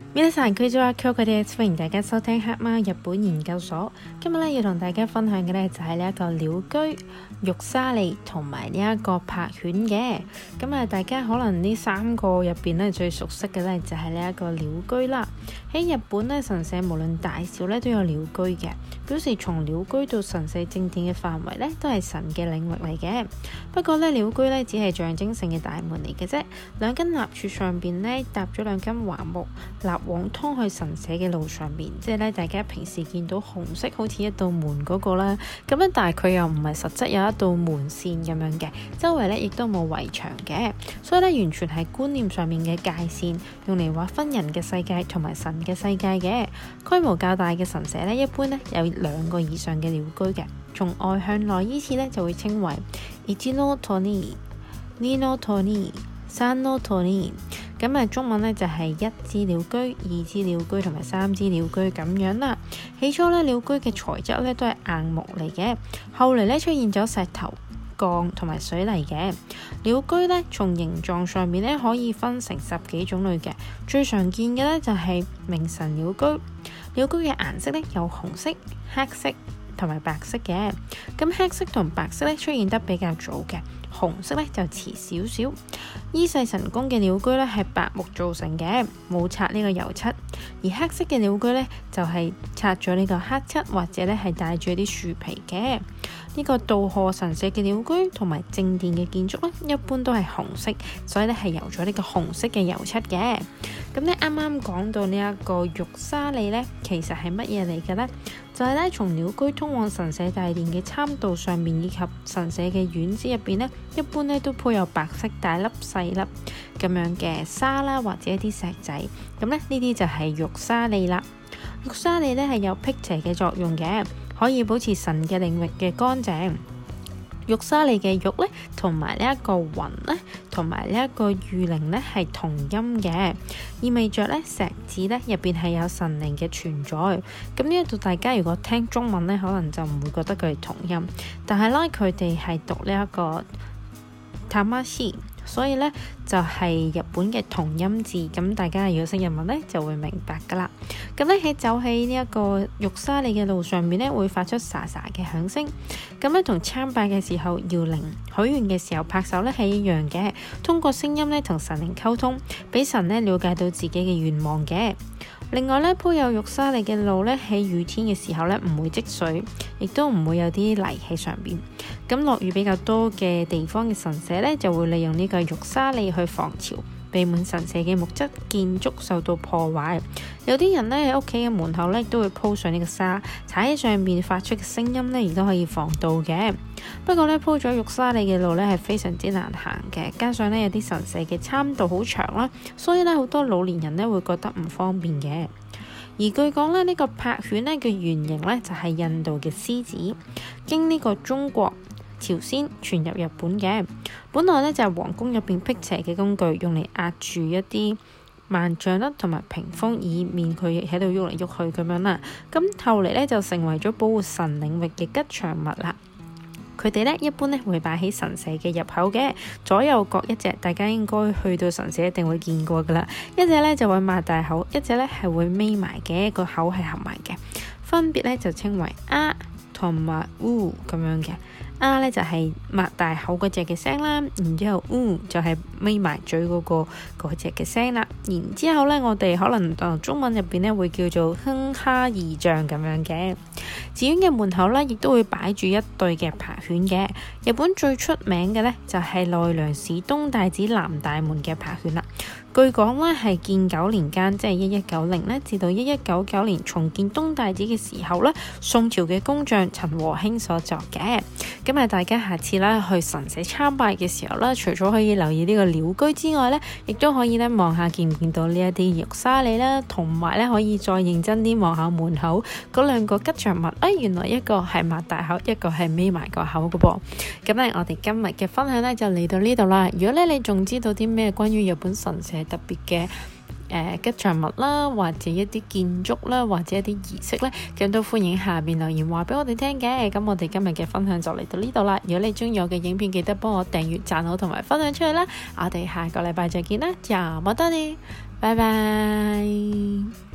皆さんこんにちは，Kyokoです，歡迎大家收聽黑貓日本研究所。今日咧要同大家分享嘅咧就係呢一個鳥居、玉沙利同埋呢一個柏犬嘅。咁啊，大家可能呢三個入邊咧最熟悉嘅咧就係呢一個鳥居啦。喺日本咧，神社無論大小咧都有鳥居嘅，表示從鳥居到神社正殿嘅範圍咧都係神嘅領域嚟嘅。不過咧，鳥居咧只係象徵性嘅大門嚟嘅啫，兩根立柱上邊咧搭咗兩根橫木立往通去神社嘅路上面，即係咧大家平時見到紅色好似一道門嗰個啦，咁樣但係佢又唔係實質有一道門線咁樣嘅，周圍咧亦都冇圍牆嘅，所以咧完全係觀念上面嘅界線，用嚟劃分人嘅世界同埋神嘅世界嘅。規模較大嘅神社咧，一般咧有2個以上嘅鳥居嘅，從外向內依次咧就會稱為1の鳥、2の鳥、3の鳥。咁啊，中文咧就係1支鳥居、2支鳥居同埋3支鳥居咁樣啦。起初咧，鳥居嘅材質咧都係硬木嚟嘅，後嚟咧出現咗石頭、鋼同埋水泥嘅。鳥居咧從形狀上面咧可以分成10幾種類嘅，最常見嘅咧就係明神鳥居。鳥居嘅顏色咧有紅色、黑色同埋白色嘅。咁黑色同白色咧出現得比較早嘅，紅色咧就遲少少。伊勢神宮嘅鳥居咧係白木造成嘅，冇擦呢個油漆；而黑色嘅鳥居咧就係擦咗呢個黑漆，或者咧係帶住啲樹皮嘅。呢個稻荷神社嘅鳥居同埋正殿嘅建築咧，一般都係紅色，所以咧係油咗呢個紅色嘅油漆嘅。咁咧啱啱講到呢一個玉沙利咧，其實係乜嘢嚟嘅咧？就係咧從鳥居通往神社大殿嘅參道上面以及神社嘅院子入邊咧，一般咧都鋪有白色大粒細粒咁樣嘅沙啦，或者一啲石仔。咁咧呢啲就係玉沙利啦。玉沙利咧係有辟邪嘅作用嘅，可以保持神嘅領域嘅乾淨。玉沙利嘅玉咧，同埋呢一個雲咧，同埋呢一個御靈咧係同音嘅，意味着咧石子咧入邊係有神靈嘅存在。咁呢一度大家如果聽中文咧，可能就唔會覺得佢係同音，但係咧佢哋係讀呢一個魂，所以咧就係日本嘅同音字。咁大家如果識日文咧，就會明白噶啦。咁咧喺走喺呢一個玉沙利嘅路上面咧，會發出沙沙嘅響聲。咁咧同參拜嘅時候搖鈴、許願嘅時候拍手咧係一樣嘅，通過聲音咧同神靈溝通，俾神咧了解到自己嘅願望嘅。另外咧，鋪有玉沙利嘅路咧，喺雨天嘅時候咧唔會積水，亦都唔會有啲泥喺上邊。咁落雨比較多嘅地方嘅神社咧，就會利用呢個玉沙利去防潮，避免神社嘅木質建築受到破壞。有啲人咧喺屋企嘅門口咧都會鋪上呢個沙，踩喺上面發出嘅聲音咧，亦都可以防盜嘅。不過咧，鋪咗玉沙利嘅路咧係非常之難行嘅，加上咧有啲神社嘅參道好長啦，所以咧好多老年人咧會覺得唔方便嘅。而據講咧，呢個柏犬咧嘅原型咧就係印度嘅獅子，經呢個中國、朝鮮傳入日本嘅。本來咧就係皇宮入邊辟邪嘅工具，用嚟壓住一啲萬象啦，同埋屏風，以免佢喺度喐嚟喐去咁樣啦。咁後嚟咧就成為咗保護神領域嘅吉祥物啦。佢哋咧一般咧會擺喺神社嘅入口嘅，左右各一隻，大家應該去到神社一定會見過噶啦。一隻咧就會擘大口，一隻咧係會眯埋嘅，個口係合埋嘅，分別咧就稱為啊同埋烏咁樣嘅。啊咧就係擘大口嗰隻嘅聲啦，然之後就係眯埋嘴嗰隻嘅聲啦。然之後咧，我哋可能中文入邊咧會叫做哼哈二將咁樣嘅。寺院嘅門口咧，亦都會擺住一對嘅柏犬嘅。日本最出名嘅咧就係奈良市東大寺南大門嘅柏犬啦。據講咧係建9年間，即係1190咧至到1199年重建東大寺嘅時候咧，宋朝嘅工匠陳和興所作嘅。咁啊，大家下次咧去神社參拜嘅時候咧，除咗可以留意呢個鳥居之外咧，亦都可以咧望下見唔見到呢一啲玉沙利啦，同埋咧可以再認真啲望下門口嗰2個吉祥物。原來一個係擘大口，一個係眯埋個口嘅噃。咁咧，我哋今日嘅分享咧就嚟到呢度啦。如果咧你仲知道啲咩關於日本神社特別嘅吉祥物啦，或者一啲建築啦，或者一啲儀式咧，咁都歡迎下面留言話俾我哋聽嘅。咁我哋今日嘅分享就嚟到呢度啦。如果你中意我嘅影片，記得幫我訂閱、讚好同埋分享出去啦。我哋下個禮拜再見啦，就冇得你。 拜拜。